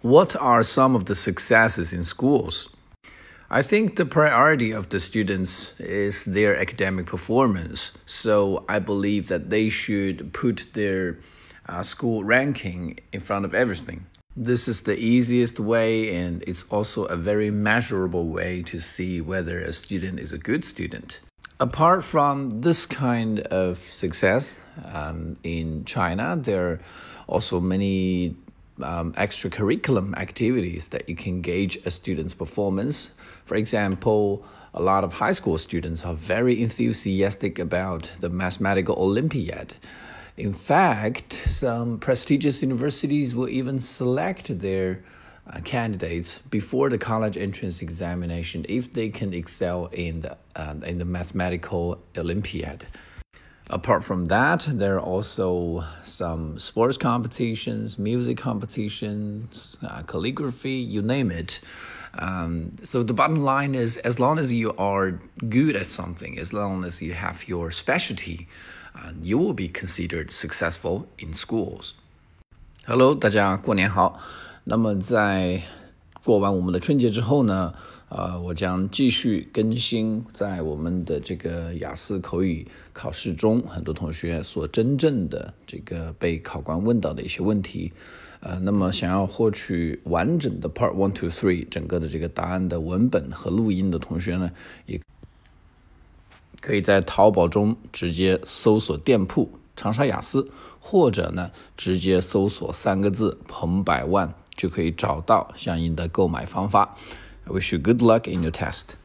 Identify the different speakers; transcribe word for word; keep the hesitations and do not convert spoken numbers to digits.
Speaker 1: What are some of the successes in schools? I think the priority of the students is their academic performance. So I believe that they should put their uh, school ranking in front of everything. This is the easiest way, and it's also a very measurable way to see whether a student is a good student. Apart from this kind of success, um, in China, there are also many Um, extracurricular activities that you can gauge a student's performance. For example, a lot of high school students are very enthusiastic about the mathematical Olympiad. In fact, some prestigious universities will even select their uh, candidates before the college entrance examination if they can excel in the, uh, in the mathematical Olympiad. Apart from that, there are also some sports competitions, music competitions, uh, calligraphy, you name it. Um, so the bottom line is, as long as you are good at something, as long as you have your specialty, uh, you will be considered successful in schools. Hello， 大家过年好。那么在过完我们的春节之后呢，呃，我将继续更新在我们的这个雅思口语考试中，很多同学所真正的这个被考官问到的一些问题。呃，那么想要获取完整的 Part One to Three 整个的这个答案的文本和录音的同学呢，也可以在淘宝中直接搜索店铺长沙雅思，或者呢直接搜索三个字彭百万，就可以找到相应的购买方法。I wish you good luck in your test.